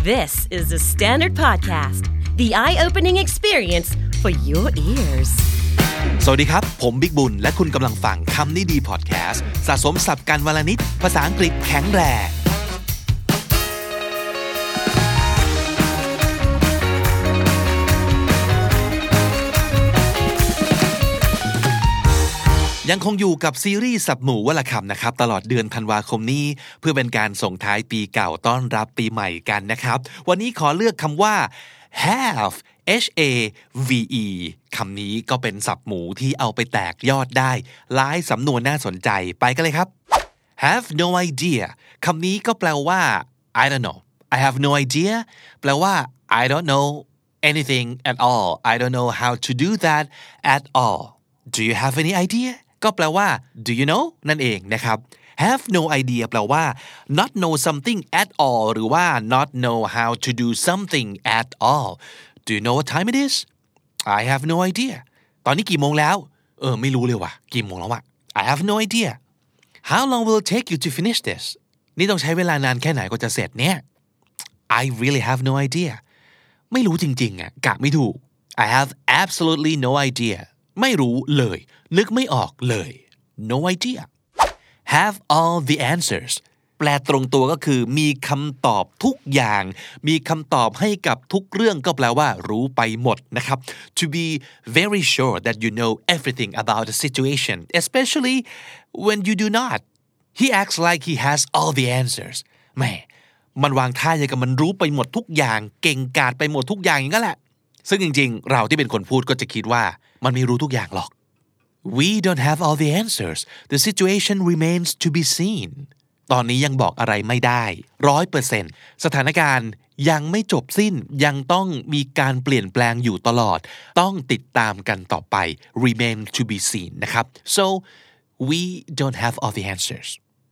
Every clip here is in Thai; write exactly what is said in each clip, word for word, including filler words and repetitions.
This is the Standard Podcast, the eye-opening experience for your ears. สวัสดีครับผมบิ๊กบุญและคุณกำลังฟังคำนี้ดีพอดแคสต์สะสมศัพท์กันวลนิดภาษาอังกฤษแข็งแรงยังคงอยู่กับซีรีส์สับหมู่วลคำนะครับตลอดเดือนธันวาคมนี้เพื่อเป็นการส่งท้ายปีเก่าต้อนรับปีใหม่กันนะครับวันนี้ขอเลือกคำว่า have h a v e คำนี้ก็เป็นศัพท์หมู่ที่เอาไปแตกยอดได้หลายสำนวนน่าสนใจไปกันเลยครับ have no idea คำนี้ก็แปลว่า I don't know I have no idea แปลว่า I don't know anything at all I don't know how to do that at all Do you have any ideaก็แปลว่า do you know นั่นเองนะครับ have no idea แปลว่า not know something at all หรือว่า not know how to do something at all Do you know what time it is I have no idea ตอนนี้กี่โมงแล้วเออไม่รู้เลยว่ะกี่โมงแล้ววะ I have no idea How long will it take you to finish this นี่ต้องใช้เวลานานแค่ไหนก็จะเสร็จเนี่ย I really have no idea ไม่รู้จริงๆอ่ะกะไม่ถูก I have absolutely no ideaไม่รู้เลยนึกไม่ออกเลย no idea have all the answers แปลตรงตัวก็คือมีคำตอบทุกอย่างมีคำตอบให้กับทุกเรื่องก็แปลว่ารู้ไปหมดนะครับ to be very sure that you know everything about the situation especially when you do not he acts like he has all the answers แหมมันวางท่าอย่างกับมันรู้ไปหมดทุกอย่างเก่งกาจไปหมดทุกอย่างอย่างนั้นแหละซึ่งจริงๆเราที่เป็นคนพูดก็จะคิดว่ามันไม่รู้ทุกอย่างหรอก We don't have all the answers the situation remains to be seen ตอนนี้ยังบอกอะไรไม่ได้ ร้อยเปอร์เซ็นต์ สถานการณ์ยังไม่จบสิ้นยังต้องมีการเปลี่ยนแปลงอยู่ตลอดต้องติดตามกันต่อไป remain to be seen นะครับ so we don't have all the answers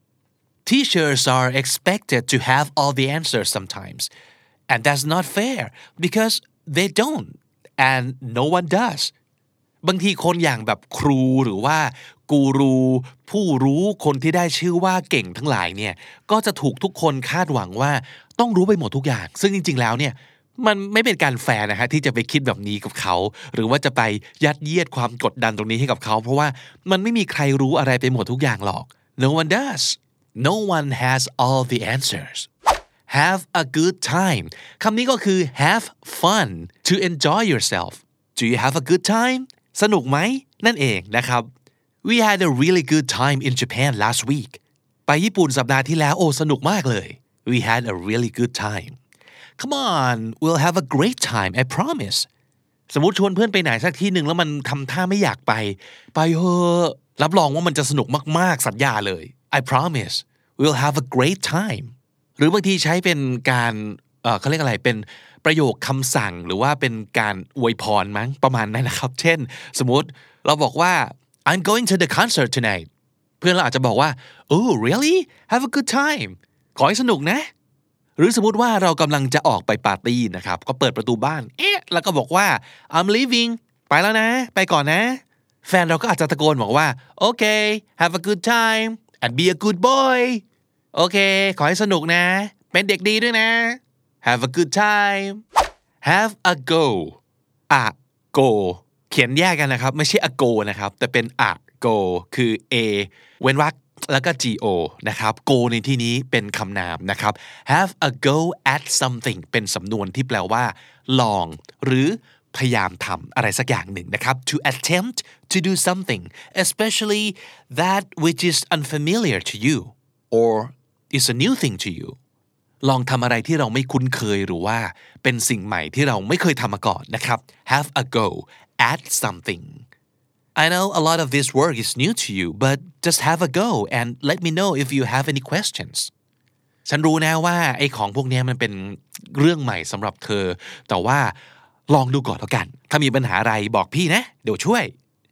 Teachers are expected to have all the answers sometimes and that's not fair because they don't and no one does บางทีคนอย่างแบบครูหรือว่ากูรูผู้รู้คนที่ได้ชื่อว่าเก่งทั้งหลายเนี่ยก็จะถูกทุกคนคาดหวังว่าต้องรู้ไปหมดทุกอย่างซึ่งจริงๆแล้วเนี่ยมันไม่เป็นการแฟร์นะฮะที่จะไปคิดแบบนี้กับเขาหรือว่าจะไปยัดเยียดความกดดันตรงนี้ให้กับเขาเพราะว่ามันไม่มีใครรู้อะไรไปหมดทุกอย่างหรอก No one does No one has all the answers Have a good time คำนี้ก็คือ have fun to enjoy yourself Do you have a good time สนุกไหมนั่นเองนะครับ We had a really good time in Japan last week ไปญี่ปุ่นสัปดาห์ที่แล้วโอ้สนุกมากเลย We had a really good time Come on we'll have a great time I promise สมมุติชวนเพื่อนไปไหนสักที่หนึ่งแล้วมันทำท่าไม่อยากไปไปเถอะรับรองว่ามันจะสนุกมากๆสัญญาเลย I promise we'll have a great timeหรือบางทีใช้เป็นการเอ่อเขาเรียกอะไรเป็นประโยคคำสั่งหรือว่าเป็นการอวยพรมั้งประมาณนั้นนะครับเช่นสมมุติเราบอกว่า I'm going to the concert tonight เพื่อนเราอาจจะบอกว่า Oh really have a good time ขอให้สนุกนะหรือสมมุติว่าเรากำลังจะออกไปปาร์ตี้นะครับก็เปิดประตูบ้านเอ๊ะแล้วก็บอกว่า I'm leaving ไปแล้วนะไปก่อนนะแฟนเราก็อาจจะตะโกนบอกว่า Okay have a good time and be a good boyโอเคขอให้สนุกนะเป็นเด็กดีด้วยนะ Have a good time Have a go a go เขียนแยกกันนะครับไม่ใช่ a go นะครับแต่เป็น a go คือ a เว้นวรรคแล้วก็ go นะครับ go ในที่นี้เป็นคำนามนะครับ Have a go at something เป็นสำนวนที่แปลว่าลองหรือพยายามทำอะไรสักอย่างหนึ่งนะครับ to attempt to do something especially that which is unfamiliar to you or is a new thing to you ลองทำอะไรที่เราไม่คุ้นเคยหรือว่าเป็นสิ่งใหม่ที่เราไม่เคยทำมาก่อนนะครับ have a go at something I know a lot of this work is new to you but just have a go and let me know if you have any questions ฉันรู้นะว่าไอ้ของพวกนี้มันเป็นเรื่องใหม่สำหรับเธอแต่ว่าลองดูก่อนแล้วกันถ้ามีปัญหาอะไรบอกพี่นะเดี๋ยวช่วย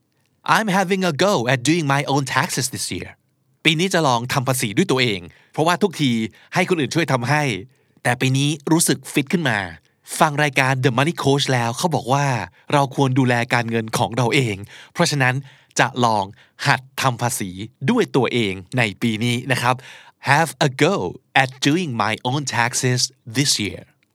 I'm having a go at doing my own taxes this yearปีนี้จะลองทำภาษีด้วยตัวเองเพราะว่าทุกทีให้คนอื่นช่วยทำให้แต่ปีนี้รู้สึกฟิตขึ้นมาฟังรายการ The Money Coach แล้วเขาบอกว่าเราควรดูแลการเงินของเราเองเพราะฉะนั้นจะลองหัดทำภาษีด้วยตัวเองในปีนี้นะครับ Have a go at doing my own taxes this year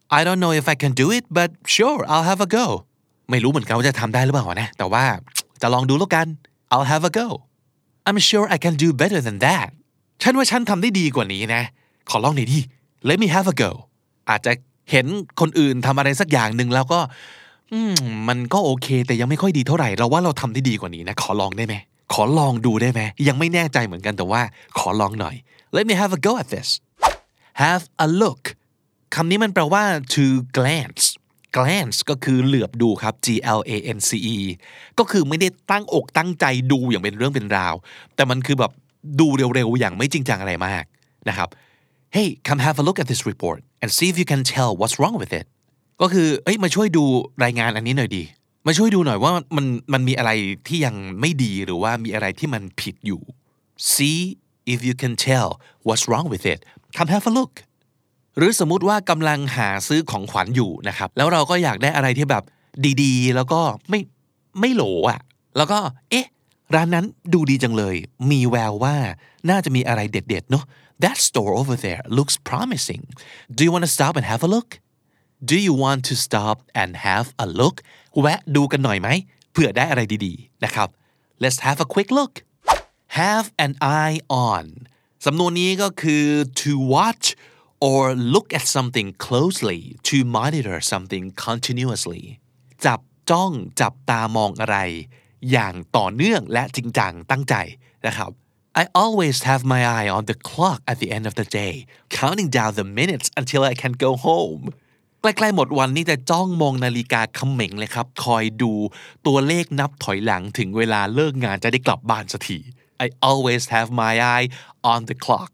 I don't know if I can do it but sure I'll have a go ไม่รู้เหมือนกันว่าจะทำได้หรือเปล่านะแต่ว่าจะลองดูแล้วกัน I'll have a go I'm sure I can do better than that ฉันว่าฉันทำได้ดีกว่านี้นะขอลองหน่อยดิ Let me have a go อาจจะเห็นคนอื่นทำอะไรสักอย่างหนึ่งแล้วก็อืมมันก็โอเคแต่ยังไม่ค่อยดีเท่าไหร่เราว่าเราทำได้ดีกว่านี้นะขอลองได้ไหมขอลองดูได้ไหมยังไม่แน่ใจเหมือนกันแต่ว่าขอลองหน่อย Let me have a go at this Have a look คำนี้มันแปลว่า to glance glance ก็คือเหลือบดูครับ G L A N C E ก็คือไม่ได้ตั้งอกตั้งใจดูอย่างเป็นเรื่องเป็นราวแต่มันคือแบบดูเร็วๆอย่างไม่จริงจังอะไรมากนะครับ Hey come have a look at this report and see if you can tell what's wrong with it ก็คือเอ้ยมาช่วยดูรายงานอันนี้หน่อยดีมาช่วยดูหน่อยว่ามันมันมีอะไรที่ยังไม่ดีหรือว่ามีอะไรที่มันผิดอยู่ See if you can tell what's wrong with it come have a look หรือสมมุติว่ากำลังหาซื้อของขวัญอยู่นะครับแล้วเราก็อยากได้อะไรที่แบบดีๆแล้วก็ไม่ไม่โหลอ่ะแล้วก็เอ๊ะร้านนั้นดูดีจังเลยมีแววว่าน่าจะมีอะไรเด็ดๆเนาะ That store over there looks promising Do you want to stop and have a look Do you want to stop and have a look แวะดูกันหน่อยไหมเผื่อได้อะไรดีๆนะครับ Let's have a quick look Have an eye on สำนวนนี้ก็คือ to watch or look at something closely to monitor something continuously จับจ้องจับตามองอะไรอย่างต่อเนื่องและจริงจังตั้งใจนะครับ I always have my eye on the clock at the end of the day counting down the minutes until I can go home ใกล้ๆหมดวันนี้จะจ้องมองนาฬิกาเขม็งเลยครับคอยดูตัวเลขนับถอยหลังถึงเวลาเลิกงานจะได้กลับบ้านสักที I always have my eye on the clock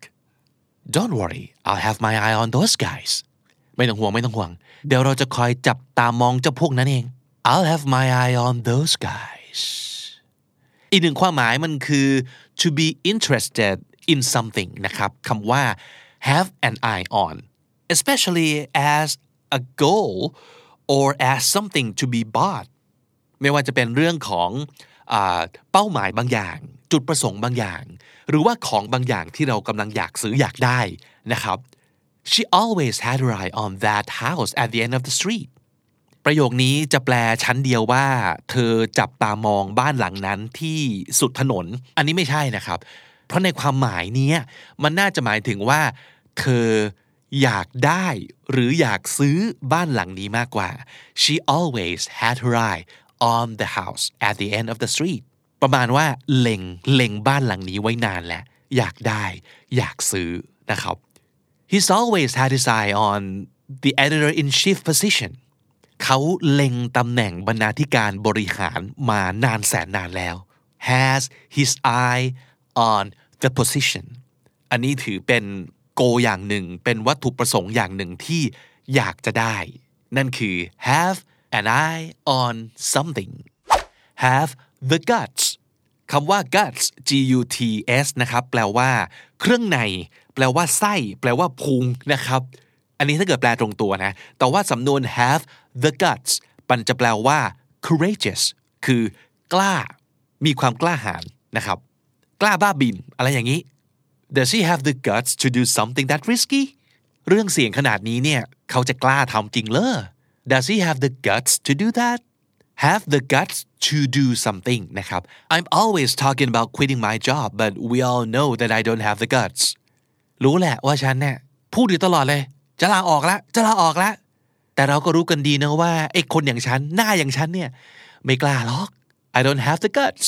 Don't worry I'll have my eye on those guys ไม่ต้องห่วงไม่ต้องห่วงเดี๋ยวเราจะคอยจับตามองเจ้าพวกนั้นเอง I'll have my eye on those guys อีกหนึ่งความหมายมันคือ to be interested in something นะครับคำว่า have an eye on especially as a goal or as something to be bought ไม่ว่าจะเป็นเรื่องของอ่าเป้าหมายบางอย่างจุดประสงค์บางอย่างหรือว่าของบางอย่างที่เรากำลังอยากซื้ออยากได้นะครับ She always had her eye on that house at the end of the street ประโยคนี้จะแปลชั้นเดียวว่าเธอจับตามองบ้านหลังนั้นที่สุดถนนอันนี้ไม่ใช่นะครับเพราะในความหมายนี้มันน่าจะหมายถึงว่าเธออยากได้หรืออยากซื้อบ้านหลังนี้มากกว่า She always had her eye on the house at the end of the street ประมาณว่าเล็งเล็งบ้านหลังนี้ไว้นานแล้วอยากได้อยากซื้อนะครับ He's always had his eye on the editor-in-chief position เขาเล็งตำแหน่งบรรณาธิการบริหารมานานแสนนานแล้ว has his eye on the position อันนี้ถือเป็นโกอย่างหนึ่งเป็นวัตถุประสงค์อย่างหนึ่งที่อยากจะได้นั่นคือ have an eye on something have the guts คำว่า guts G U T S นะครับแปลว่าเครื่องในแปลว่าไส้แปลว่าพุงนะครับอันนี้ถ้าเกิดแปลตรงตัวนะแต่ว่าสำนวน have the guts มันจะแปลว่า courageous คือกล้ามีความกล้าหาญนะครับกล้าบ้าบินอะไรอย่างนี้ Does he have the guts to do something that risky เรื่องเสี่ยงขนาดนี้เนี่ยเขาจะกล้าทำจริงเหรอ Does he have the guts to do that have the guts to do something นะครับ I'm always talking about quitting my job but we all know that I don't have the guts รู้แหละว่าฉันเนี่ยพูดอยู่ตลอดเลยจะลาออกแล้วจะลาออกแล้วแต่เราก็รู้กันดีนะว่าไอ้คนอย่างฉันหน้าอย่างฉันเนี่ยไม่กล้าหรอก I don't have the guts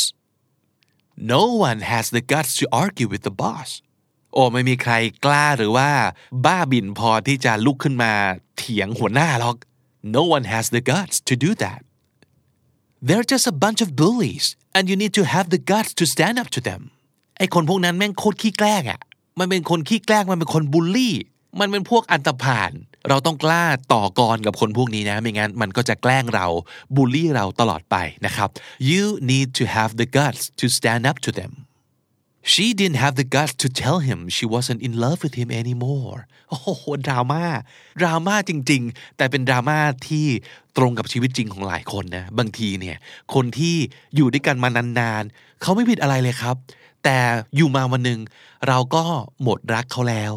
No one has the guts to argue with the boss โอ้ไม่มีใครกล้าหรือว่าบ้าบินพอที่จะลุกขึ้นมาเถียงหัวหน้าหรอก No one has the guts to do that They're just a bunch of bullies and you need to have the guts to stand up to them ไอ้คนพวกนั้นแม่งโคตรขี้แกล้งอ่ะมันเป็นคนขี้แกล้งมันเป็นคนบูลลี่มันเป็นพวกอันธพาลเราต้องกล้าต่อกรกับคนพวกนี้นะไม่งั้นมันก็จะแกล้งเราบูลลี่เราตลอดไปนะครับ You need to have the guts to stand up to them She didn't have the guts to tell him she wasn't in love with him anymore โอ้โหดราม่าดราม่าจริงๆแต่เป็นดราม่าที่ตรงกับชีวิตจริงของหลายคนนะบางทีเนี่ยคนที่อยู่ด้วยกันมานานๆเขาไม่ผิดอะไรเลยครับแต่อยู่มาวันหนึ่งเราก็หมดรักเขาแล้ว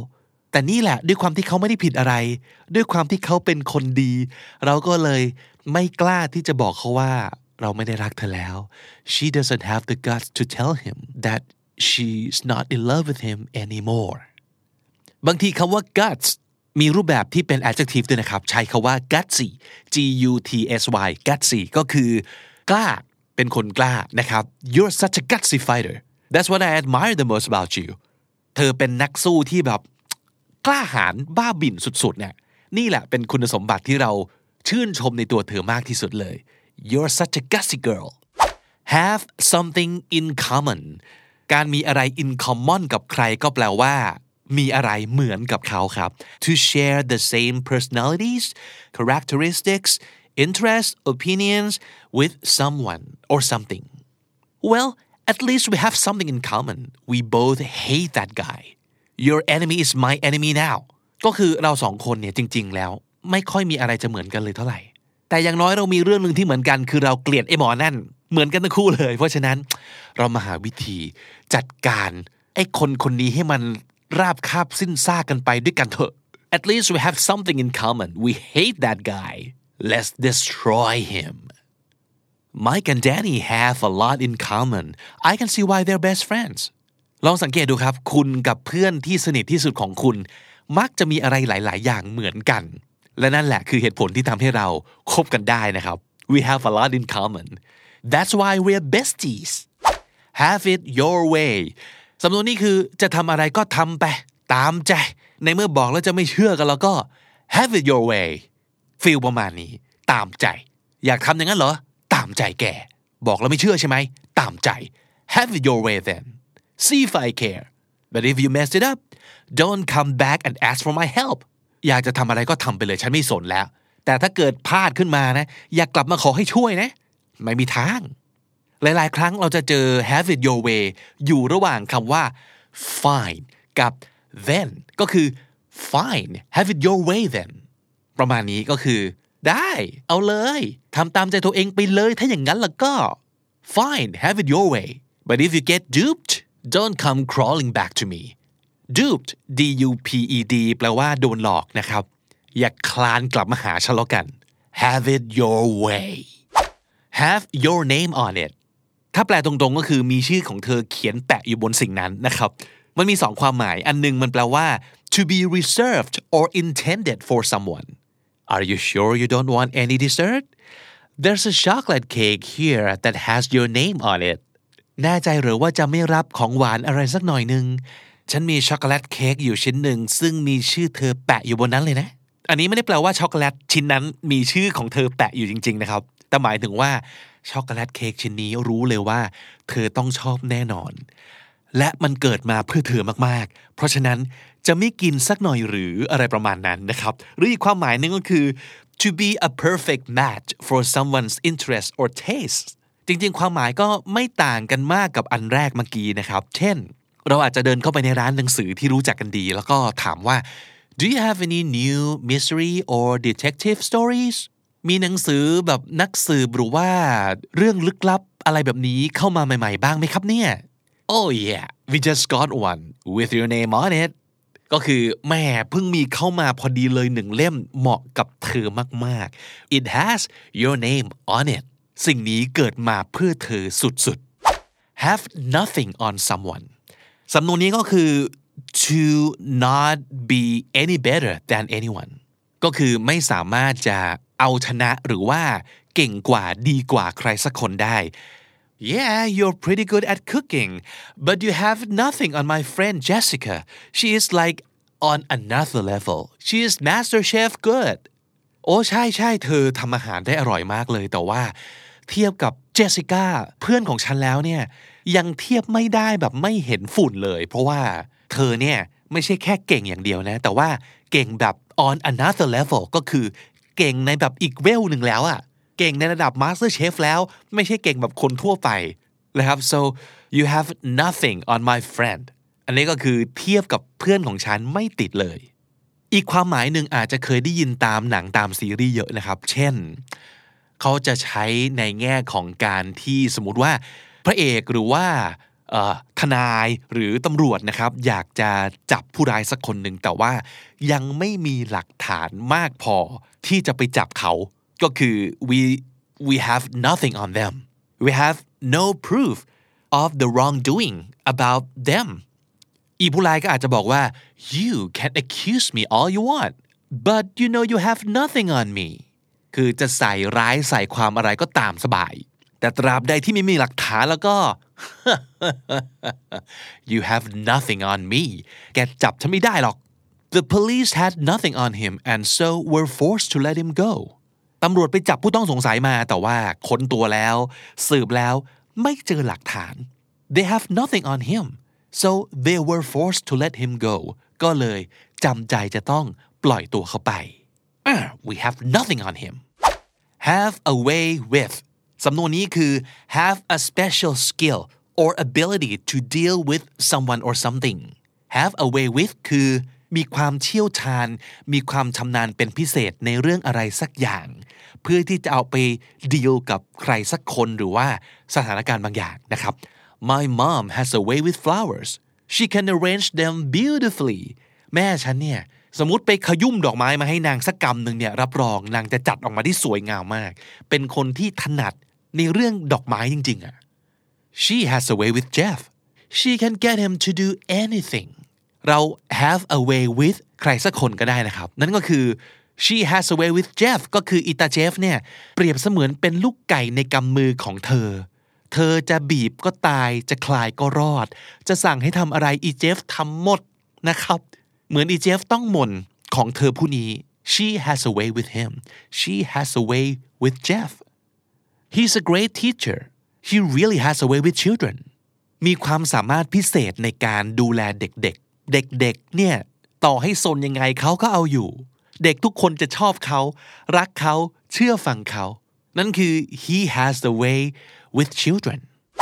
แต่นี่แหละด้วยความที่เขาไม่ได้ผิดอะไรด้วยความที่เขาเป็นคนดีเราก็เลยไม่กล้าที่จะบอกเขาว่าเราไม่ได้รักเธอแล้ว She doesn't have the guts to tell him that she's not in love with him anymore บางทีคำว่า guts มีรูปแบบที่เป็น adjective ด้วยนะครับใช้คำว่า gutsy G U T S Y gutsy ก็คือกล้าเป็นคนกล้านะครับ You're such a gutsy fighter That's what I admire the most about you เธอเป็นนักสู้ที่แบบกล้าหาญบ้าบิ่นสุดๆเนี่ยนี่แหละเป็นคุณสมบัติที่เราชื่นชมในตัวเธอมากที่สุดเลย You're such a gutsy girl Have something in common การมีอะไร in common กับใครก็แปลว่ามีอะไรเหมือนกับเขาครับ To share the same personalities characteristics interests opinions with someone or something Well at least we have something in common we both hate that guy Your enemy is my enemy now ก็คือเราสองคนเนี่ยจริงๆแล้วไม่ค่อยมีอะไรจะเหมือนกันเลยเท่าไหร่แต่อย่างน้อยเรามีเรื่องนึงที่เหมือนกันคือเราเกลียดไอ้หมอนั่นเหมือนกันทั้งคู่เลยเพราะฉะนั้นเรามาหาวิธีจัดการไอ้คนคนนี้ให้มันราบคาบสิ้นซากกันไปด้วยกันเถอะ At least we have something in common we hate that guy let's destroy him Mike and Danny have a lot in common I can see why they're best friends ลองสังเกตดูครับคุณกับเพื่อนที่สนิทที่สุดของคุณมักจะมีอะไรหลายๆอย่างเหมือนกันและนั่นแหละคือเหตุผลที่ทำให้เราคบกันได้นะครับ We have a lot in common That's why we're besties Have it your way สำนวนนี้คือจะทำอะไรก็ทำไปตามใจในเมื่อบอกแล้วจะไม่เชื่อกันแล้วก็ Have it your way ฟีลประมาณนี้ตามใจอยากทำอย่างนั้นเหรอตามใจแกบอกแล้วไม่เชื่อใช่ไหมตามใจ Have it your way then See if I care But if you mess it up don't come back and ask for my help อยากจะทำอะไรก็ทำไปเลยฉันไม่สนแล้วแต่ถ้าเกิดพลาดขึ้นมานะอย่ากลับมาขอให้ช่วยนะไม่มีทางหลายๆครั้งเราจะเจอ have it your way อยู่ระหว่างคำว่า fine กับ then ก็คือ fine have it your way then ประมาณนี้ก็คือได้เอาเลยทำตามใจตัวเองไปเลยถ้าอย่างนั้นแล้วก็ fine have it your way but if you get duped don't come crawling back to me duped D U P E D แปลว่าโดนหลอกนะครับอย่าคลานกลับมาหาฉันแล้วกัน have it your way have your name on it ถ้าแปลตรงๆก็คือมีชื่อของเธอเขียนแปะอยู่บนสิ่งนั้นนะครับมันมีสองความหมายอันนึงมันแปลว่า to be reserved or intended for someone Are you sure you don't want any dessert? There's a chocolate cake here that has your name on it แน่ใจหรือว่าจะไม่รับของหวานอะไรสักหน่อยนึงฉันมีช็อกโกแลตเค้กอยู่ชิ้นหนึ่งซึ่งมีชื่อเธอแปะอยู่บนนั้นเลยนะอันนี้ไม่ได้แปลว่าช็อกโกแลตชิ้นนั้นมีชื่อของเธอแปะอยู่จริงๆนะครับแต่หมายถึงว่าช็อกโกแลตเค้กชิ้นนี้รู้เลยว่าเธอต้องชอบแน่นอนและมันเกิดมาเพื่อเธอมากๆเพราะฉะนั้นจะไม่กินสักหน่อยหรืออะไรประมาณนั้นนะครับหรืออีกความหมายนึงก็คือ to be a perfect match for someone's interest or taste จริงๆความหมายก็ไม่ต่างกันมากกับอันแรกเมื่อกี้นะครับเช่นเราอาจจะเดินเข้าไปในร้านหนังสือที่รู้จักกันดีแล้วก็ถามว่า Do you have any new mystery or detective stories มีหนังสือแบบนักสืบหรือว่าเรื่องลึกลับอะไรแบบนี้เข้ามาใหม่ๆบ้างไหมครับเนี่ย Oh yeah we just got one with your name on it ก็คือแม่เพิ่งมีเข้ามาพอดีเลยหนึ่งเล่มเหมาะกับเธอมากๆ It has your name on it สิ่งนี้เกิดมาเพื่อเธอสุดๆ Have nothing on someone สำนวนนี้ก็คือ to not be any better than anyone ก็คือไม่สามารถจะเอาชนะหรือว่าเก่งกว่าดีกว่าใครสักคนได้ Yeah you're pretty good at cooking but you have nothing on my friend Jessica she is like on another level she is master chef good โอ้ใช่ใช่เธอทำอาหารได้อร่อยมากเลยแต่ว่าเทียบกับเจสสิก้าเพื่อนของฉันแล้วเนี่ยยังเทียบไม่ได้แบบไม่เห็นฝุ่นเลยเพราะว่าเธอเนี่ยไม่ใช่แค่เก่งอย่างเดียวนะแต่ว่าเก่งแบบ on another level ก็คือเก่งในแบบอีกเวลหนึ่งแล้วอะเก่งในระดับ master chef แล้วไม่ใช่เก่งแบบคนทั่วไปนะครับ so you have nothing on my friend อันนี้ก็คือเทียบกับเพื่อนของฉันไม่ติดเลยอีกความหมายหนึ่งอาจจะเคยได้ยินตามหนังตามซีรีส์เยอะนะครับเช่นเขาจะใช้ในแง่ของการที่สมมุติว่าพระเอกหรือว่าทนายหรือตำรวจนะครับอยากจะจับผู้ร้ายสักคนหนึ่งแต่ว่ายังไม่มีหลักฐานมากพอที่จะไปจับเขาก็คือ we we have nothing on them we have no proof of the wrongdoing about them อีผู้ร้ายก็อาจจะบอกว่า you can accuse me all you want but you know you have nothing on me คือจะใส่ร้ายใส่ความอะไรก็ตามสบายแต่ตราบใดที่ไม่มีหลักฐานแล้วก็ you have nothing on me แกจับฉันไม่ได้หรอก the police had nothing on him and so were forced to let him go ตำรวจไปจับผู้ต้องสงสัยมาแต่ว่าค้นตัวแล้วสืบแล้วไม่เจอหลักฐาน they have nothing on him so they were forced to let him go ก็เลยจำใจจะต้องปล่อยตัวเขาไป ah, we have nothing on him have a way with สำนวนนี้คือ have a special skill or ability to deal with someone or something have a way with คือมีความเชี่ยวชาญมีความชำนาญเป็นพิเศษในเรื่องอะไรสักอย่างเพื่อที่จะเอาไปดีลกับใครสักคนหรือว่าสถานการณ์บางอย่างนะครับ My mom has a way with flowers she can arrange them beautifully แม่ฉันเนี่ยสมมุติไปขยุ่มดอกไม้มาให้นางสักกำหนึ่งเนี่ยรับรองนางจะจัดออกมาที่สวยงามมากเป็นคนที่ถนัดในเรื่องดอกไม้จริงๆอ่ะ She has a way with Jeff she can get him to do anything เรา have a way with ใครสักคนก็ได้นะครับนั่นก็คือ she has a way with Jeff ก็คืออีตาเจฟเนี่ยเปรียบเสมือนเป็นลูกไก่ในกำมือของเธอเธอจะบีบก็ตายจะคลายก็รอดจะสั่งให้ทำอะไรอีเจฟทำหมดนะครับเหมือนอีเจฟต้องมนของเธอผู้นี้ she has a way with him she has a way with Jeff he's a great teacher he really has a way with children มีความสามารถพิเศษในการดูแลเด็กๆเด็กๆเนี่ยต่อให้ซนยังไงเขาก็เอาอยู่เด็กทุกคนจะชอบเขารักเขาเชื่อฟังเขานั่นคือ he has the way with children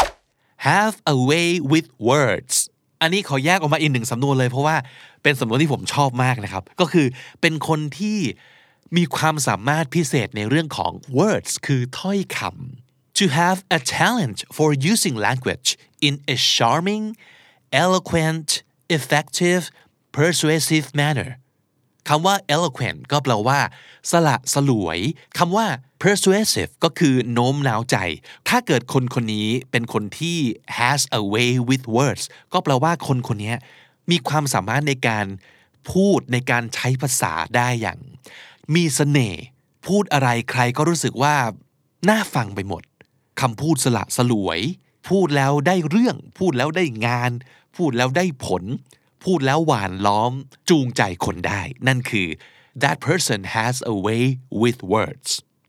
have a way with words อันนี้ขอแยกออกมาอีกหนึ่งสำนวนเลยเพราะว่าเป็นสำนวนที่ผมชอบมากนะครับก็คือเป็นคนที่มีความสามารถพิเศษในเรื่องของ words คือถ้อยคำ to have a talent for using language in a charming eloquent effective persuasive manner คำว่า eloquent ก็แปลว่าสละสลวยคำว่า persuasive ก็คือโน้มน้าวใจถ้าเกิดคนคนนี้เป็นคนที่ has a way with words ก็แปลว่าคนคนนี้มีความสามารถในการพูดในการใช้ภาษาได้อย่างมีเสน่ห์พูดอะไรใครก็รู้สึกว่าน่าฟังไปหมดคำพูดสละสลวยพูดแล้วได้เรื่องพูดแล้วได้งานพูดแล้วได้ผลพูดแล้วหวานล้อมจูงใจคนได้นั่นคือ that person has a way with words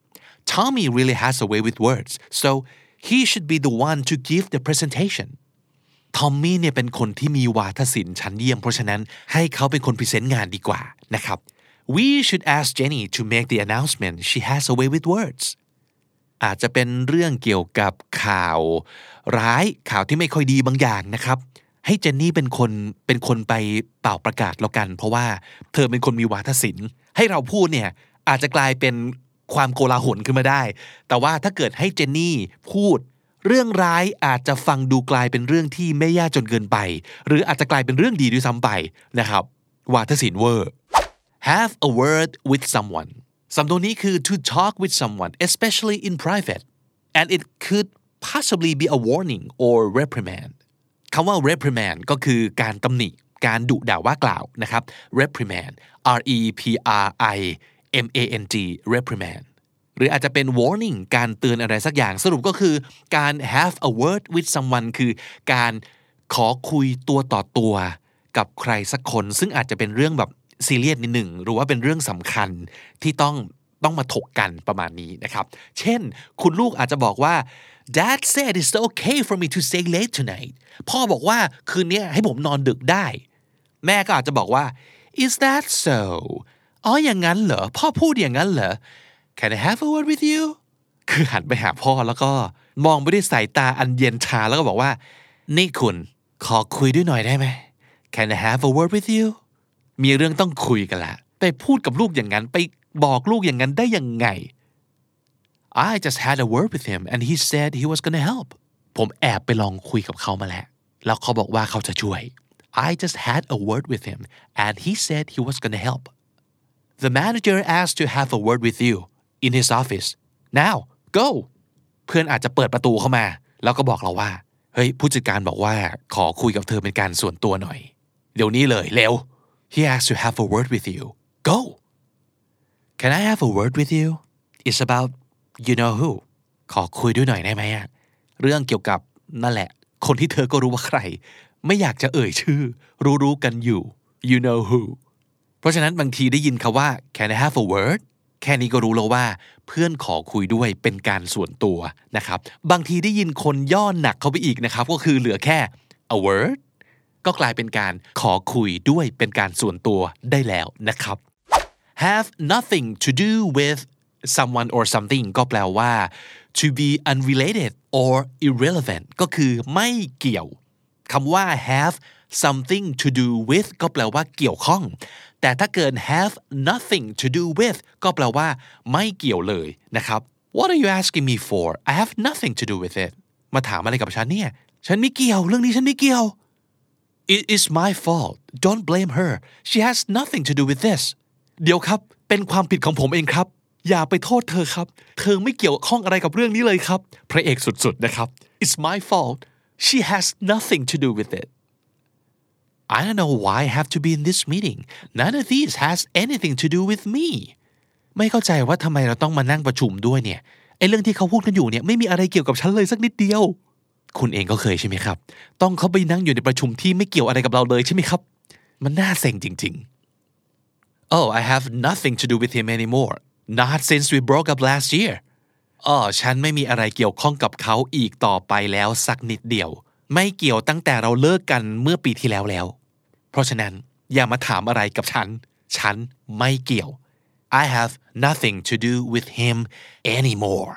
Tommy really has a way with words so he should be the one to give the presentation ทอมมี่เนี่ยเป็นคนที่มีวาทศิลป์ชั้นเยี่ยมเพราะฉะนั้นให้เขาเป็นคนพรีเซนต์งานดีกว่านะครับ We should ask Jenny to make the announcement she has a way with words อาจจะเป็นเรื่องเกี่ยวกับข่าวร้ายข่าวที่ไม่ค่อยดีบางอย่างนะครับให้เจนนี่เป็นคนเป็นคนไปเป่าประกาศแล้วกันเพราะว่าเธอเป็นคนมีวาทศิลป์ให้เราพูดเนี่ยอาจจะกลายเป็นความโกลาหลขึ้นมาได้แต่ว่าถ้าเกิดให้เจนนี่พูดเรื่องร้ายอาจจะฟังดูกลายเป็นเรื่องที่ไม่แย่จนเกินไปหรืออาจจะกลายเป็นเรื่องดีด้วยซ้ำไปนะครับวาทศิลป์เวอร์ have a word with someone สำนวนนี้คือ to talk with someone especially in private and it could possibly be a warning or reprimand คำว่า reprimand ก็คือการตำหนิการดุด่าว่ากล่าวนะครับ reprimand R E P R I M A N G reprimand หรืออาจจะเป็น warning การเตือนอะไรสักอย่างสรุปก็คือการ have a word with someone คือการขอคุยตัวต่อตัวกับใครสักคนซึ่งอาจจะเป็นเรื่องแบบซีเรียสนิดหนึ่งหรือว่าเป็นเรื่องสำคัญที่ต้องต้องมาถกกันประมาณนี้นะครับเช่นคุณลูกอาจจะบอกว่า Dad said it's okay for me to stay late tonight พ่อบอกว่าคืนนี้ให้ผมนอนดึกได้แม่ก็อาจจะบอกว่า Is that so อ๋ออย่างนั้นเหรอพ่อพูดอย่างนั้นเหรอ Can I have a word with you คือหันไปหาพ่อแล้วก็มองไปด้วยสายตาอันเย็นชาแล้วก็บอกว่านี่คุณขอคุยด้วยหน่อยได้ไหม Can I have a word with you มีเรื่องต้องคุยกันละไปพูดกับลูกอย่างนั้นไปบอกลูกอย่างนั้นได้ยังไง I just had a word with him and he said he was gonna help ผมแอบไปลองคุยกับเขามาแล้วแล้วเขาบอกว่าเขาจะช่วย I just had a word with him and he said he was gonna help The manager asked to have a word with you in his office now go เพื่อนอาจจะเปิดประตูเข้ามาแล้วก็บอกเราว่าเฮ้ยผู้จัดการบอกว่าขอคุยกับเธอเป็นการส่วนตัวหน่อยเดี๋ยวนี้เลยเร็ว He asked to have a word with you go Can I have a word with you It's about you know who ขอคุยด้วยหน่อยได้ไหมอะเรื่องเกี่ยวกับนั่นแหละคนที่เธอก็รู้ว่าใครไม่อยากจะเอ่ยชื่อรู้ๆกันอยู่ you know who เพราะฉะนั้นบางทีได้ยินคำว่า Can I have a word แค่นี้ก็รู้แล้วว่าเพื่อนขอคุยด้วยเป็นการส่วนตัวนะครับบางทีได้ยินคนย่อหนักเข้าไปอีกนะครับก็คือเหลือแค่ a word ก็กลายเป็นการขอคุยด้วยเป็นการส่วนตัวได้แล้วนะครับ have nothing to do with someone or something ก็แปลว่า to be unrelated or irrelevant ก็คือไม่เกี่ยวคำว่า have something to do with ก็แปลว่าเกี่ยวข้องแต่ถ้าเกิด have nothing to do with ก็แปลว่าไม่เกี่ยวเลยนะครับ What are you asking me for? I have nothing to do with it มาถามอะไรกับฉันเนี่ยฉันไม่เกี่ยวเรื่องนี้ฉันไม่เกี่ยว It is my fault Don't blame her She has nothing to do with this เดี๋ยวครับเป็นความผิดของผมเองครับอย่าไปโทษเธอครับเธอไม่เกี่ยวข้องอะไรกับเรื่องนี้เลยครับพระเอกสุดๆนะครับ It's my fault She has nothing to do with it I don't know why I have to be in this meeting None of these has anything to do with me ไม่เข้าใจว่าทำไมเราต้องมานั่งประชุมด้วยเนี่ยไอ้เรื่องที่เขาพูดกันอยู่เนี่ยไม่มีอะไรเกี่ยวกับฉันเลยสักนิดเดียวคุณเองก็เคยใช่ไหมครับต้องเข้าไปนั่งอยู่ในประชุมที่ไม่เกี่ยวอะไรกับเราเลยใช่ไหมครับมันน่าเซ็งจริงๆ Oh I have nothing to do with him anymore Not since we broke up last year อ๋อฉันไม่มีอะไรเกี่ยวข้องกับเขาอีกต่อไปแล้วสักนิดเดียวไม่เกี่ยวตั้งแต่เราเลิกกันเมื่อปีที่แล้วแล้วเพราะฉะนั้นอย่ามาถามอะไรกับฉันฉันไม่เกี่ยว I have nothing to do with him anymore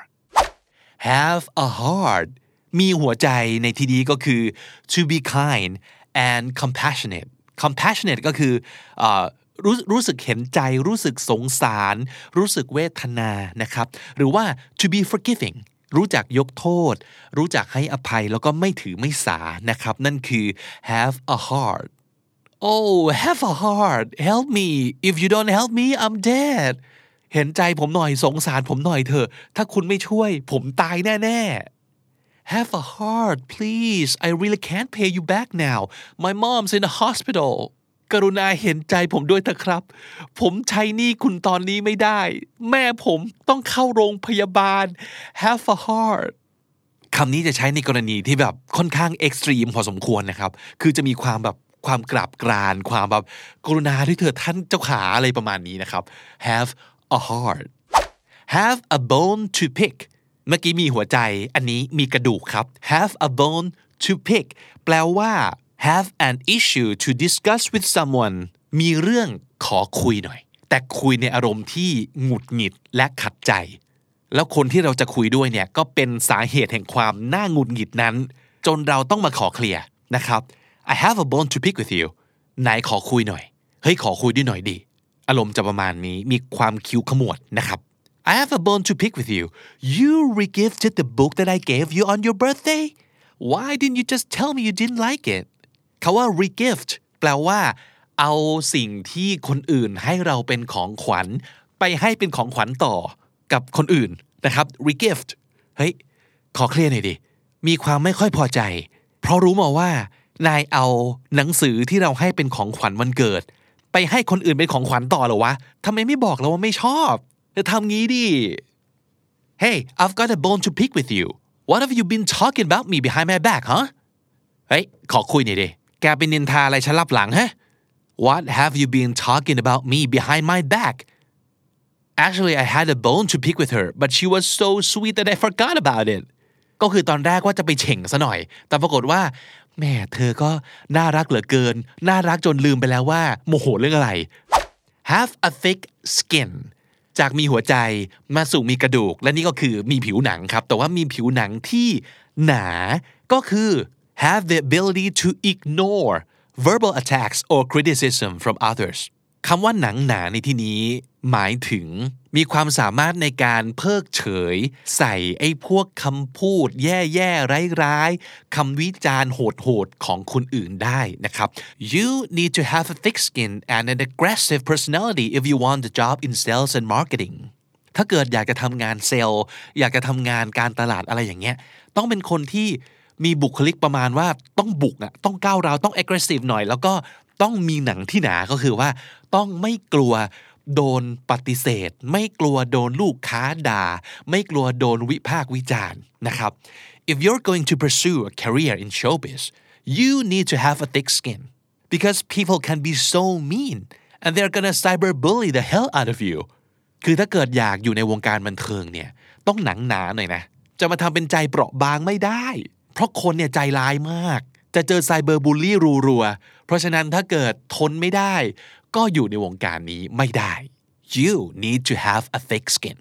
have a heart มีหัวใจในที่นี้ก็คือ to be kind and compassionate compassionate ก็คือเอ่อรู้รู้สึกเห็นใจรู้สึกสงสารรู้สึกเวทนานะครับหรือว่า to be forgiving รู้จักยกโทษรู้จักให้อภัยแล้วก็ไม่ถือไม่สานะครับนั่นคือ have a heart oh have a heart help me if you don't help me I'm dead เห็นใจผมหน่อยสงสารผมหน่อยเถอะถ้าคุณไม่ช่วยผมตายแน่ๆ have a heart please I really can't pay you back now my mom's in the hospitalกรุณาเห็นใจผมด้วยเถอะครับผมใช้หนี้คุณตอนนี้ไม่ได้แม่ผมต้องเข้าโรงพยาบาล have a heart คำนี้จะใช้ในกรณีที่แบบค่อนข้างเอ็กซ์ตรีมพอสมควรนะครับคือจะมีความแบบความกราบกรานความแบบกรุณาด้วยเถิดท่านเจ้าขาอะไรประมาณนี้นะครับ have a heart have a bone to pick เมื่อกี้มีหัวใจอันนี้มีกระดูกครับ have a bone to pick แปลว่า have an issue to discuss with someone มีเรื่องขอคุยหน่อยแต่คุยในอารมณ์ที่หงุดหงิดและขัดใจแล้วคนที่เราจะคุยด้วยเนี่ยก็เป็นสาเหตุแห่งความน่าหงุดหงิดนั้นจนเราต้องมาขอเคลียร์นะครับ I have a bone to pick with you ไหนขอคุยหน่อยเฮ้ยขอคุยด้วยหน่อยดิอารมณ์จะประมาณนี้มีความคิ้วขมวดนะครับ I have a bone to pick with you you regifted the book that I gave you on your birthday why didn't you just tell me you didn't like it คำว่า regift แปลว่าเอาสิ่งที่คนอื่นให้เราเป็นของขวัญไปให้เป็นของขวัญต่อกับคนอื่นนะครับ regift เฮ้ยขอเคลียร์หน่อยดิมีความไม่ค่อยพอใจเพราะรู้มาว่านายเอาหนังสือที่เราให้เป็นของขวัญวันเกิดไปให้คนอื่นเป็นของขวัญต่อเหรอวะทำไมไม่บอกเราว่าไม่ชอบจะทำงี้ดิ Hey I've got a bone to pick with you What have you been talking about me behind my back huh เฮ้ยขอคุยหน่อยดิแกเป็นนินทาอะไรฉันลับหลังฮะ What have you been talking about me behind my back Actually I had a bone to pick with her but she was so sweet that I forgot about it ก็คือตอนแรกว่าจะไปเฉ่งซะหน่อยแต่ปรากฏว่าแม่เธอก็น่ารักเหลือเกินน่ารักจนลืมไปแล้วว่าโมโหเรื่องอะไร Have a thick skin จากมีหัวใจมาสู่มีกระดูกและนี่ก็คือมีผิวหนังครับแต่ว่ามีผิวหนังที่หนาก็คือ have the ability to ignore verbal attacks or criticism from others คำว่าหนังหนาในที่นี้หมายถึงมีความสามารถในการเพิกเฉยใส่ไอ้พวกคำพูดแย่ๆร้ายๆคำวิจารณ์โหดๆของคนอื่นได้นะครับ You need to have a thick skin and an aggressive personality if you want a job in sales and marketing ถ้าเกิดอยากจะทำงานเซลล์อยากจะทำงานการตลาดอะไรอย่างเงี้ยต้องเป็นคนที่มีบุคลิกประมาณว่าต้องบุกอ่ะต้องก้าวร้าวต้อง aggressive หน่อยแล้วก็ต้องมีหนังที่หนาก็คือว่าต้องไม่กลัวโดนปฏิเสธไม่กลัวโดนลูกค้าด่าไม่กลัวโดนวิพากษ์วิจารณ์นะครับ If you're going to pursue a career in showbiz you need to have a thick skin because people can be so mean and they're gonna cyberbully the hell out of you คือถ้าเกิดอยากอยู่ในวงการบันเทิงเนี่ยต้องหนังหนาหน่อยนะจะมาทำเป็นใจเปราะบางไม่ได้เพราะคนเนี่ยใจร้ายมากจะเจอไซเบอร์บูลลี่รัวๆเพราะฉะนั้นถ้าเกิดทนไม่ได้ก็อยู่ในวงการนี้ไม่ได้ You need to have a thick skin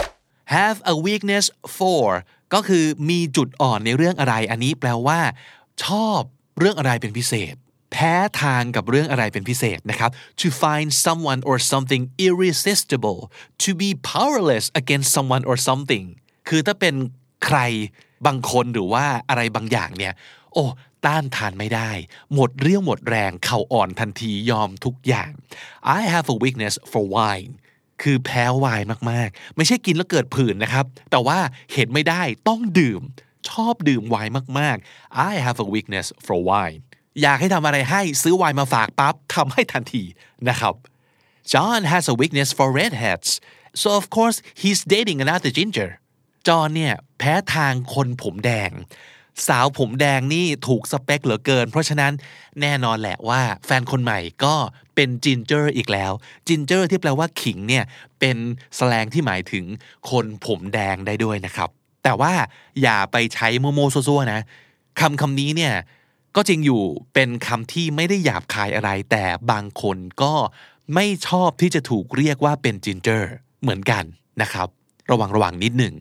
have a weakness for ก็คือมีจุดอ่อนในเรื่องอะไรอันนี้แปลว่าชอบเรื่องอะไรเป็นพิเศษแพ้ทางกับเรื่องอะไรเป็นพิเศษนะครับ to find someone or something irresistible to be powerless against someone or something คือถ้าเป็นใครบางคนหรือว่าอะไรบางอย่างเนี่ยโอ้ต้านทานไม่ได้หมดเรี่ยวหมดแรงเข่าอ่อนทันทียอมทุกอย่าง I have a weakness for wine คือแพ้ไวน์มากๆไม่ใช่กินแล้วเกิดผื่นนะครับแต่ว่าเห็นไม่ได้ต้องดื่มชอบดื่มไวน์มากๆ I have a weakness for wine อยากให้ทำอะไรให้ซื้อไวน์มาฝากปั๊บทำให้ทันทีนะครับ John has a weakness for redheads so of course he's dating another ginger จอห์นเนี่ยแพ้ทางคนผมแดงสาวผมแดงนี่ถูกสเปคเหลือเกินเพราะฉะนั้นแน่นอนแหละว่าแฟนคนใหม่ก็เป็นจินเจอร์อีกแล้วจินเจอร์ที่แปลว่าขิงเนี่ยเป็นสแลงที่หมายถึงคนผมแดงได้ด้วยนะครับแต่ว่าอย่าไปใช้โมโมซัวๆนะคำคำนี้เนี่ยก็จริงอยู่เป็นคำที่ไม่ได้หยาบคายอะไรแต่บางคนก็ไม่ชอบที่จะถูกเรียกว่าเป็นจินเจอร์เหมือนกันนะครับระวังระวังนิดหนึ่ง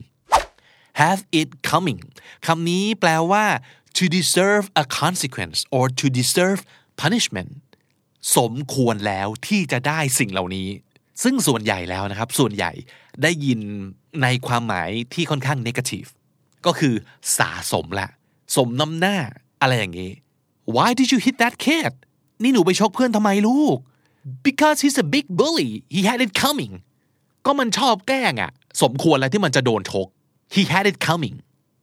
have it coming คำนี้แปลว่า to deserve a consequence or to deserve punishment สมควรแล้วที่จะได้สิ่งเหล่านี้ซึ่งส่วนใหญ่แล้วนะครับส่วนใหญ่ได้ยินในความหมายที่ค่อนข้าง negative ก็คือสะสมละสมน้ำหน้าอะไรอย่างงี้ Why did you hit that kid นี่หนูไปชกเพื่อนทำไมลูก Because he's a big bully he had it coming ก็มันชอบแกล้งอะสมควรแล้วที่มันจะโดนชกHe had it coming.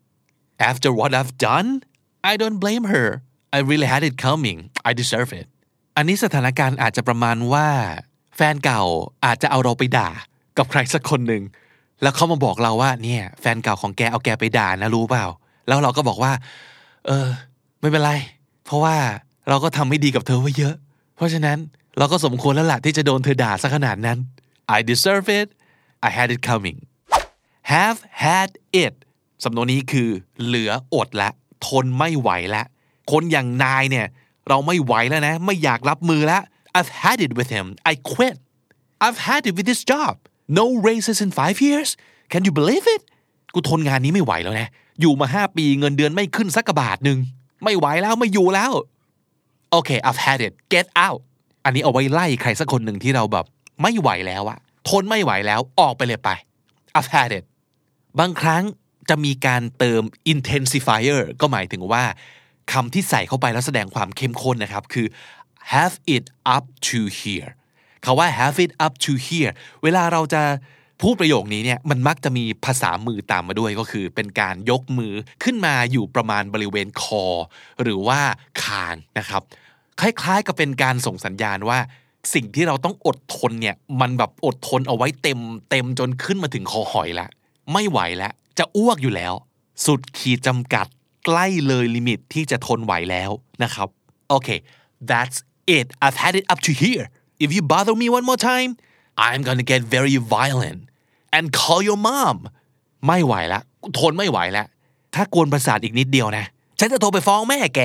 After what I've done, I don't blame her. I really had it coming. I deserve it. อันนี้สถานการณ์อาจจะประมาณว่าแฟนเก่าอาจจะเอาเราไปด่ากับใครสักคนหนึ่งแล้วเขามาบอกเราว่าเนี่ยแฟนเก่าของแกเอาแกไปด่านะรู้เปล่าแล้วเราก็บอกว่าเออไม่เป็นไรเพราะว่าเราก็ทำไม่ดีกับเธอไว้เยอะเพราะฉะนั้นเราก็สมควรแล้วล่ะที่จะโดนเธอด่าซะขนาดนั้น I deserve it. I had it coming.have had it สำนวนนี้คือเหลืออดละทนไม่ไหวละคนอย่างนายเนี่ยเราไม่ไหวแล้วนะไม่อยากรับมือละ I've had it with him I quit I've had it with this job no raises in five years can you believe it กูทนงานนี้ไม่ไหวแล้วนะอยู่มาห้าปีเงินเดือนไม่ขึ้นสักกระบาทนึงไม่ไหวแล้วไม่อยู่แล้วโอเค I've had it get out อันนี้เอาไว้ไล่ใครสักคนหนึ่งที่เราแบบไม่ไหวแล้วอะทนไม่ไหวแล้วออกไปเลยไป I've had itบางครั้งจะมีการเติม intensifier ก็หมายถึงว่าคำที่ใส่เข้าไปแล้วแสดงความเข้มข้นนะครับคือ have it up to here คำว่า have it up to here เวลาเราจะพูดประโยคนี้เนี่ยมันมักจะมีภาษามือตามมาด้วยก็คือเป็นการยกมือขึ้นมาอยู่ประมาณบริเวณคอหรือว่าคางนะครับคล้ายๆกับเป็นการส่งสัญญาณว่าสิ่งที่เราต้องอดทนเนี่ยมันแบบอดทนเอาไว้เต็มเต็มจนขึ้นมาถึงคอหอยละไม่ไหวแล้วจะอ้วกอยู่แล้วสุดขีดจำกัดใกล้เลยลิมิตที่จะทนไหวแล้วนะครับโอเค that's it I've had it up to here if you bother me one more time I'm gonna get very violent and call your mom ไม่ไหวแล้วทนไม่ไหวแล้วถ้ากวนประสาทอีกนิดเดียวนะฉันจะโทรไปฟ้องแม่แก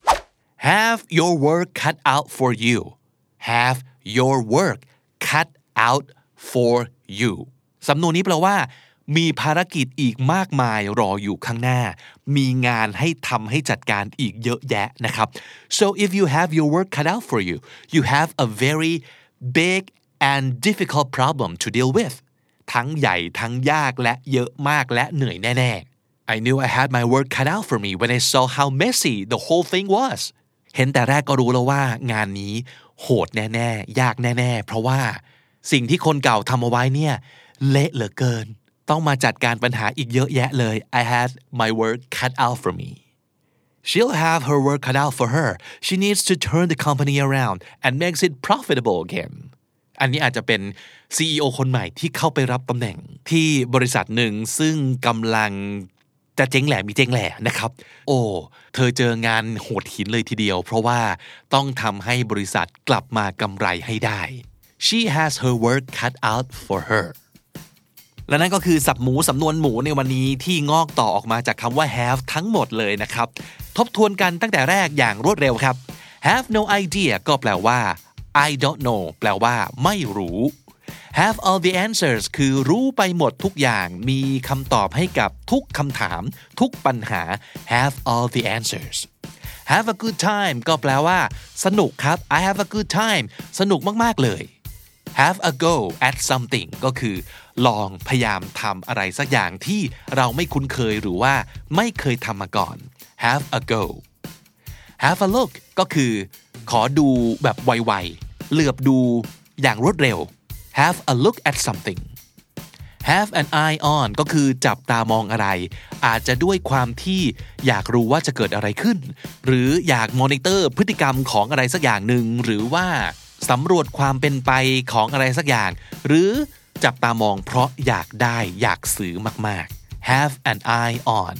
have your work cut out for you have your work cut out for you สำนวนนี้แปลว่ามีภารกิจอีกมากมายรออยู่ข้างหน้ามีงานให้ทำให้จัดการอีกเยอะแยะนะครับ so if you have your work cut out for you you have a very big and difficult problem to deal with ทั้งใหญ่ทั้งยากและเยอะมากและเหนื่อยแน่ๆ I knew I had my work cut out for me when I saw how messy the whole thing was เห็นแต่แรกก็รู้แล้วว่างานนี้โหดแน่ๆยากแน่ๆเพราะว่าสิ่งที่คนเก่าทำเอาไว้เนี่ยเละเหลือเกินต้องมาจัดการปัญหาอีกเยอะแยะเลย I had my work cut out for me She'll have her work cut out for her She needs to turn the company around and makes it profitable again อันนี้อาจจะเป็น ซี อี โอ คนใหม่ที่เข้าไปรับตำแหน่งที่บริษัทหนึ่งซึ่งกำลังจะเจ๊งแหล่มีเจ๊งแหล่นะครับโอ้เธอเจองานโหดหินเลยทีเดียวเพราะว่าต้องทำให้บริษัทกลับมากำไรให้ได้ She has her work cut out for her และนั่นก็คือศัพท์หมูสำนวนหมูในวันนี้ที่งอกต่อออกมาจากคำว่า have ทั้งหมดเลยนะครับทบทวนกันตั้งแต่แรกอย่างรวดเร็วครับ have no idea ก็แปลว่า I don't know แปลว่าไม่รู้ have all the answers คือรู้ไปหมดทุกอย่างมีคำตอบให้กับทุกคำถามทุกปัญหา have all the answers have a good time ก็แปลว่าสนุกครับ I have a good time สนุกมากๆเลย have a go at something ก็คือลองพยายามทำอะไรสักอย่างที่เราไม่คุ้นเคยหรือว่าไม่เคยทำมาก่อน have a go have a look ก็คือขอดูแบบไวๆเหลือบดูอย่างรวดเร็ว have a look at something have an eye on ก็คือจับตามองอะไรอาจจะด้วยความที่อยากรู้ว่าจะเกิดอะไรขึ้นหรืออยากมอนิเตอร์พฤติกรรมของอะไรสักอย่างหนึ่งหรือว่าสำรวจความเป็นไปของอะไรสักอย่างหรือจับตามองเพราะอยากได้อยากซื้อมากๆ have an eye on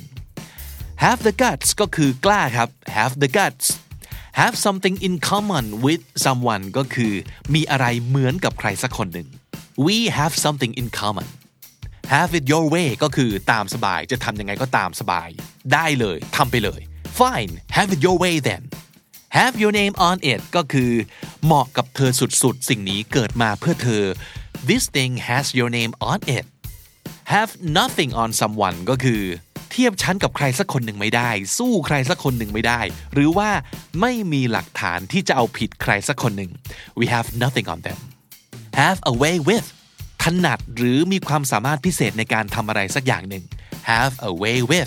have the guts ก็คือกล้าครับ have the guts have something in common with someone ก็คือมีอะไรเหมือนกับใครสักคนหนึ่ง we have something in common have it your way ก็คือตามสบายจะทำยังไงก็ตามสบายได้เลยทำไปเลย fine have it your way then have your name on it ก็คือเหมาะกับเธอสุดๆสิ่งนี้เกิดมาเพื่อเธอ this thing has your name on it have nothing on someone ก็คือเทียบชั้นกับใครสักคนหนึ่งไม่ได้สู้ใครสักคนหนึ่งไม่ได้หรือว่าไม่มีหลักฐานที่จะเอาผิดใครสักคนหนึ่ง we have nothing on them have a way with ถนัดหรือมีความสามารถพิเศษในการทำอะไรสักอย่างหนึ่ง have a way with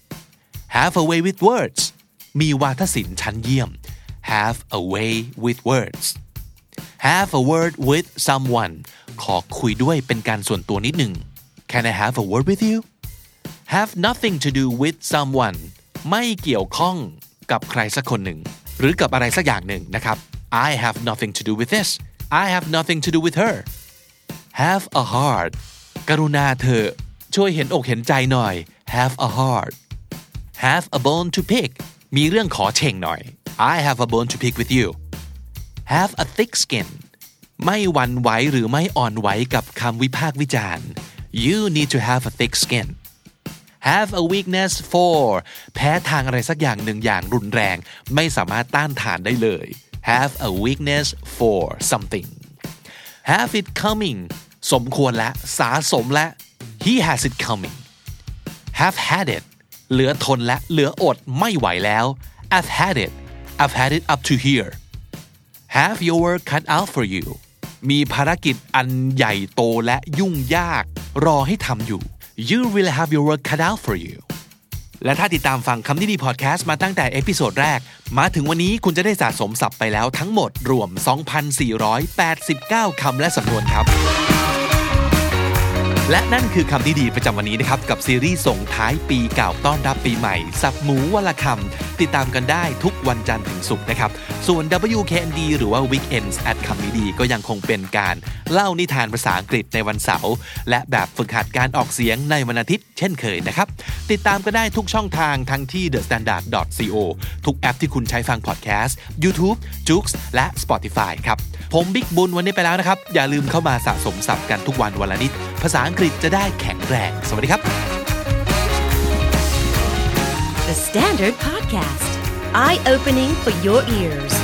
have a way with words มีวาทศิลป์ชั้นเยี่ยม have a way with words have a word with someone ขอคุยด้วยเป็นการส่วนตัวนิดหนึ่ง can I have a word with you have nothing to do with someone ไม่เกี่ยวข้องกับใครสักคนหนึ่งหรือกับอะไรสักอย่างหนึ่งนะครับ I have nothing to do with this I have nothing to do with her have a heart กรุณาเธอช่วยเห็นอกเห็นใจหน่อย have a heart have a bone to pick มีเรื่องขอเฉ่งหน่อย I have a bone to pick with you have a thick skin ไม่หวั่นไหวหรือไม่อ่อนไหวกับคำวิพากษ์วิจารณ์ you need to have a thick skin have a weakness for แพ้ทางอะไรสักอย่างหนึ่งอย่างรุนแรงไม่สามารถต้านทานได้เลย have a weakness for something have it coming สมควรและสาสมและ he has it coming have had it เหลือทนและเหลืออดไม่ไหวแล้ว I've had it I've had it up to here have your work cut out for you มีภารกิจอันใหญ่โตและยุ่งยากรอให้ทำอยู่You really have your work cut out for you และถ้าติดตามฟังคำนี้ดีพอดแคสต์มาตั้งแต่เอพิโซดแรกมาถึงวันนี้คุณจะได้สะสมศัพท์ไปแล้วทั้งหมดรวม สองพันสี่ร้อยแปดสิบเก้า คำและสำนวนครับและนั่นคือคำนี้ดีประจำวันนี้นะครับกับซีรีส์ส่งท้ายปีเก่าต้อนรับปีใหม่ศัพท์หมูวลคำติดตามกันได้ทุกวันจันทร์ถึงศุกร์นะครับส่วน ดับเบิลยู เค เอ็น ดี หรือว่า Weekends at คำนี้ดีก็ยังคงเป็นการเล่านิทานภาษาอังกฤษในวันเสาร์และแบบฝึกหัดการออกเสียงในวันอาทิตย์เช่นเคยนะครับติดตามกันได้ทุกช่องทางทั้งที่ เดอะสแตนดาร์ด ดอท ซี โอ ทุกแอปที่คุณใช้ฟังพอดแคสต์ YouTube Joox และ Spotify ครับผมบิ๊กบุญวันนี้ไปแล้วนะครับอย่าลืมเข้ามาสะสมศัพท์กันทุกวันวันละนิดภาษาอังกฤษจะได้แข็งแรงสวัสดีครับ The Standard Podcast Eye Opening for Your Ears